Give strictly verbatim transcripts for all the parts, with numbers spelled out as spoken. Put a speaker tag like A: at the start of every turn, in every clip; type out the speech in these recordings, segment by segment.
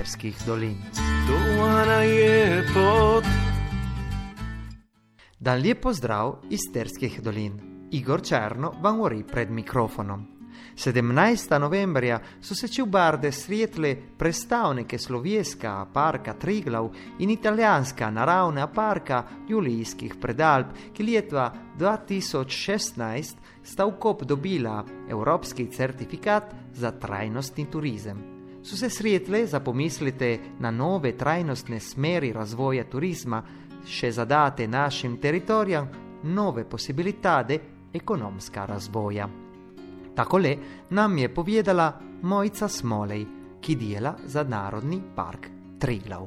A: Isterskih dolin.
B: Dolana je pot.
A: Dan lijep pozdrav iz Isterskih dolin. Igor Černo vam govori pred mikrofonom. sedemnajstega novembrja so se čubarde srijetle predstavnike Slovjenskega parka Triglav in italijanska naravna parka Julijskih predalp, ki leta dva tisoč šestnajst sta v kop dobila evropski certifikat za trajnostni turizem. So se srijetle za pomislite na nove trajnostne smeri razvoja turizma, še zadate našim teritorijam nove posibilitade ekonomska razvoja. Takole nam je povedala Mojca Smolej, ki dela za Narodni park Triglav.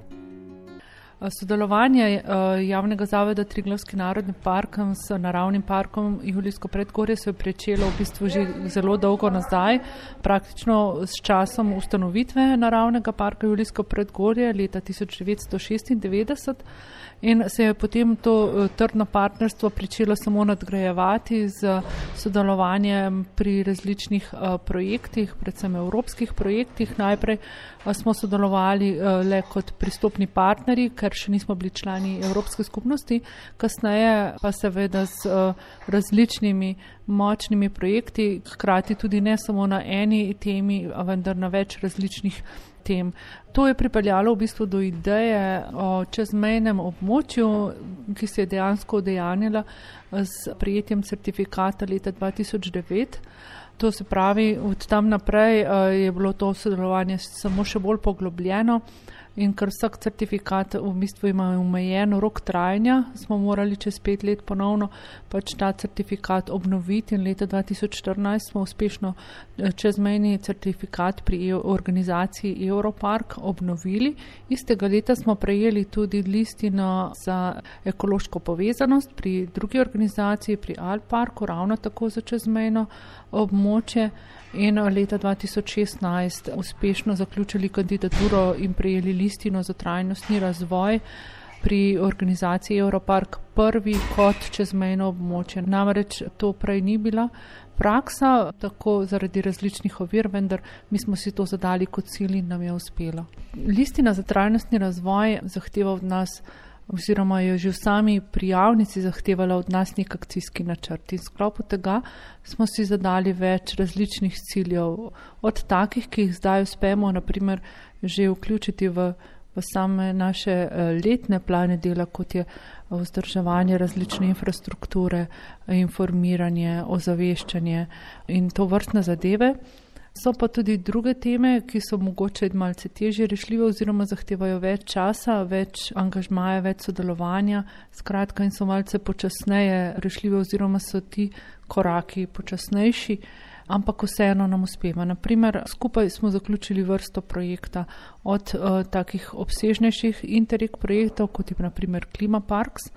C: Sodelovanje javnega zavoda Triglavski narodni park s naravnim parkom Julijsko predgorje se je pričelo v bistvu že zelo dolgo nazaj, praktično s časom ustanovitve naravnega parka Julijsko predgorje leta tisoč devetsto šestindevetdeset. In se je potem to trdno partnerstvo pričelo samo nadgrajevati z sodelovanjem pri različnih projektih, predvsem evropskih projektih. Najprej smo sodelovali le kot pristopni partnerji, ker še nismo bili člani Evropske skupnosti, kasneje pa seveda z različnimi močnimi projekti, hkrati tudi ne samo na eni temi, vendar na več različnih tem. To je pripeljalo v bistvu do ideje o čezmejnem območju, ki se je dejansko udejanjila s prijetjem certifikata leta dva tisoč devet. To se pravi, od tam naprej je bilo to sodelovanje samo še bolj poglobljeno in ker vsak certifikat v bistvu ima omejen rok trajanja, smo morali čez pet let ponovno pač ta certifikat obnoviti in leta dva tisoč štirinajst smo uspešno čezmejni certifikat pri organizaciji Europark obnovili. Istega leta smo prejeli tudi listino za ekološko povezanost pri drugi organizaciji, pri Alparku, ravno tako za čezmejno območje. In leta dva tisoč šestnajst uspešno zaključili kandidaturo in prejeli listino za trajnostni razvoj pri organizaciji Europark prvi kot čezmejno območje. Namreč to prej ni bila praksa, tako zaradi različnih ovir, vendar mi smo si to zadali kot cilj in nam je uspelo. Listina za trajnostni razvoj zahteva od nas, oziroma je že v sami prijavnici zahtevala od nas nek akcijski načrt. In v sklopu tega smo si zadali več različnih ciljev, od takih, ki jih zdaj uspemo naprimer že vključiti v, v same naše letne plane dela, kot je vzdrževanje različne infrastrukture, informiranje, ozaveščanje in to vrstne zadeve. So pa tudi druge teme, ki so mogoče malce težje rešljive oziroma zahtevajo več časa, več angažmaja, več sodelovanja, skratka in so malce počasneje rešljive oziroma so ti koraki počasnejši, ampak vseeno nam uspeva. Naprimer, skupaj smo zaključili vrsto projekta od uh, takih obsežnejših Interreg projektov, kot je naprimer Klimaparks,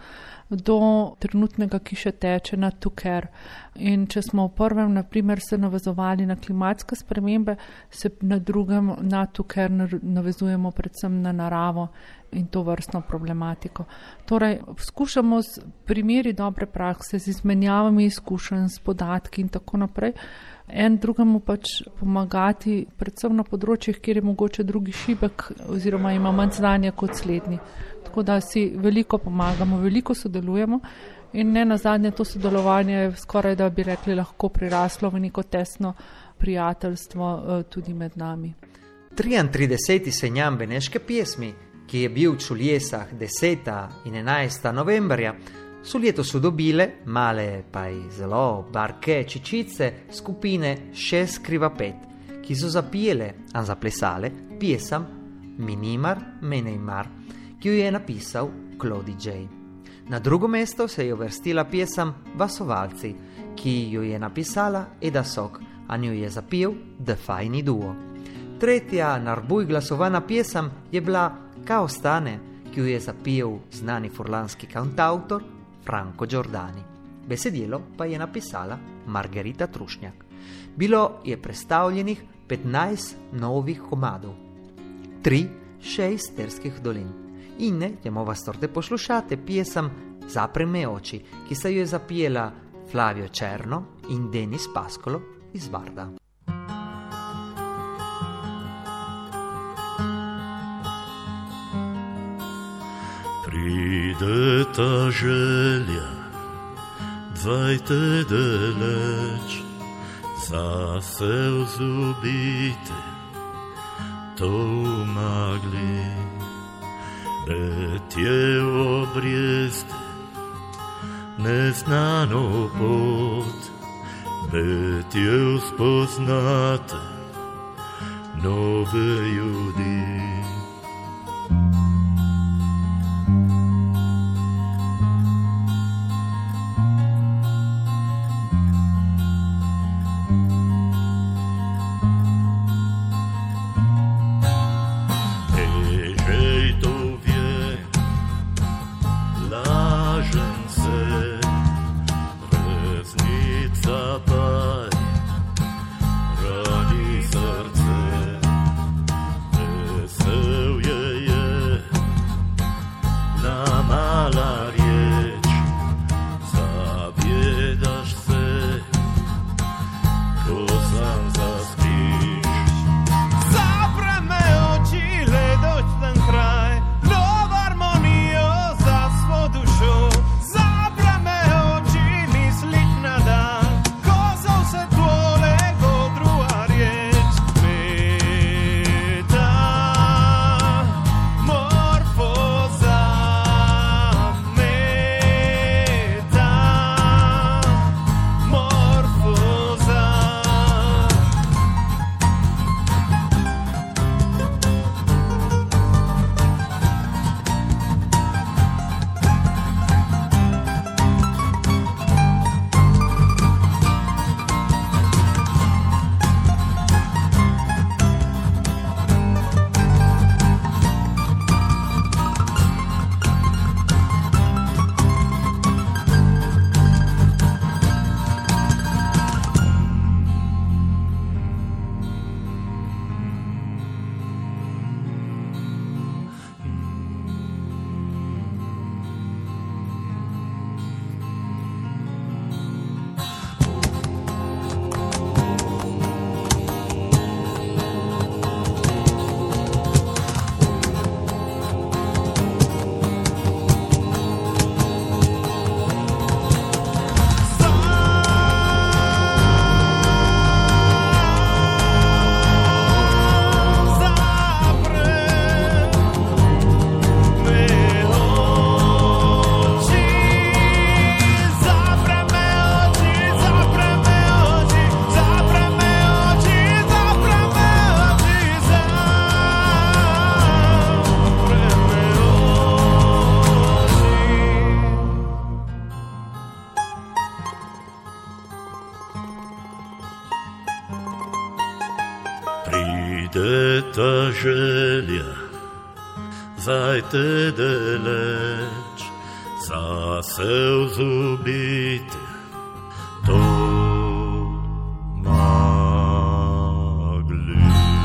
C: do trenutnega, ki še teče na Tuker. In če smo v prvem, naprimer, se navezovali na klimatske spremembe, se na drugem na Tuker navezujemo predvsem na naravo in to vrstno problematiko. Torej, skušamo s primeri dobre prakse, z izmenjavami izkušenj, s podatki in tako naprej, en drugemu pač pomagati, predvsem na področjih, kjer je mogoče drugi šibek oziroma ima manj znanja kot slednji. Tako da si veliko pomagamo, veliko sodelujemo in ne nazadnje to sodelovanje skoraj da bi rekli lahko priraslo v neko tesno prijateljstvo tudi med nami.
A: triintrideseti seznam beneške pjesmi, ki je bil v Čuljesah desetega in enajstega novembrja, so letos dobile male pa i zelo barke čičice skupine Šest kriva pet, ki so zapijele in zaplesale pjesam Minimar Menejmar, ki jo je napisal Claudi J. Na drugo mesto se je uvrstila pjesam Vasovalci, ki jo je napisala Eda Sok, a njo je zapil The Fajni Duo. Tretja narbuj glasovana pjesam je bila Kao stane, ki jo je zapil znani furlanski kantautor Franco Giordani. Besedilo pa je napisala Margherita Trušnjak. Bilo je predstavljenih petnajst novih komadov, tri še iz Isterskih dolin. In ne, ćemo vas torte poslušate pjesam Zapri me oči, ki se jo je zapijela Flavio Cerno in Denis Pascolo iz Varda.
D: Pride ta želja, dvajte daleč, zase vzubite, to umagli, letje v obrijeste, neznano pot, letje spoznate, nove ljudi. Pride ta želja, zajte daleč, zase vzubite, to magli.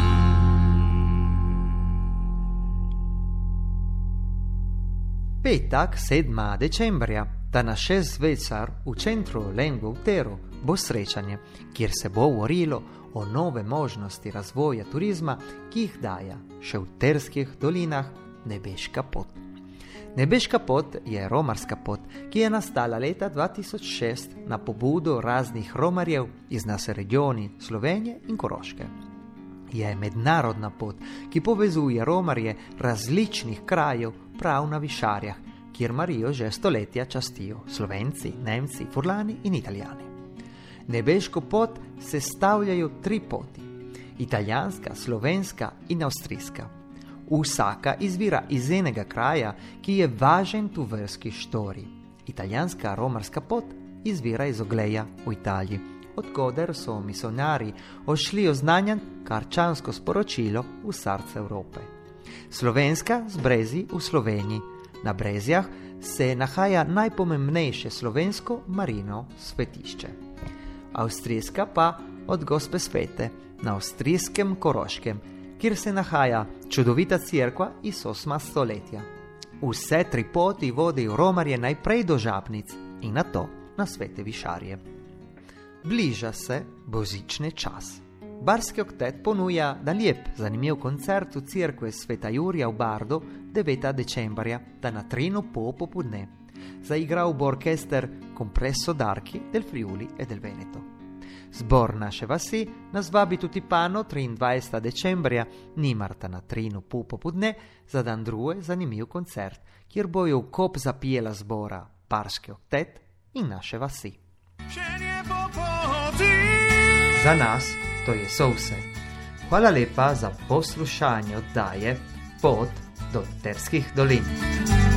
A: Petak sedmega decembra, da na šest zvečer v centru Lengvo v Teru bo srečanje, kjer se bo govorilo o nove možnosti razvoja turizma, ki jih daje še v terskih dolinah Nebeška pot. Nebeška pot je romarska pot, ki je nastala leta dva tisoč šest na pobudo raznih romarjev iz nas regioni Slovenije in Koroške. Je mednarodna pot, ki povezuje romarje različnih krajev prav na Višarjah, kjer Marijo že stoletja častijo Slovenci, Nemci, Furlani in Italijani. Nebeško pot sestavljajo tri poti, italijanska, slovenska in avstrijska. Vsaka izvira iz enega kraja, ki je važen tu verski štori. Italijanska romarska pot izvira iz Ogleja v Italiji, odkoder so misionari odšli oznanjan krščansko sporočilo v srce Evrope. Slovenska z Brezij v Sloveniji. Na Brezjah se nahaja najpomembnejše slovensko marino svetišče. Avstrijska pa od Gospe Svete na avstrijskem Koroškem, kjer se nahaja čudovita cerkva iz osmega stoletja. Vse tri poti vodijo romarje najprej do Žabnic in nato na Svete Višarje. Bliža se božični čas. Barski oktet ponuja da lijep, zanimiv koncert u cirkve Sveta Jurija u Bardu devetega decembrja, da na trinu po popodne. Zaigral bo orkester Compresso d'Archi del Friuli e del Veneto. Zbor naše vasi nas vabi tutti pano triindvajsetega decembrja, nimarta na trinu po popodne, za dan druge zanimiv koncert, kjer bojo v kop zapijela zbora Barski oktet in naše vasi. Za nas to je so vse. Hvala lepa za poslušanje oddaje Pot do Terskih dolin.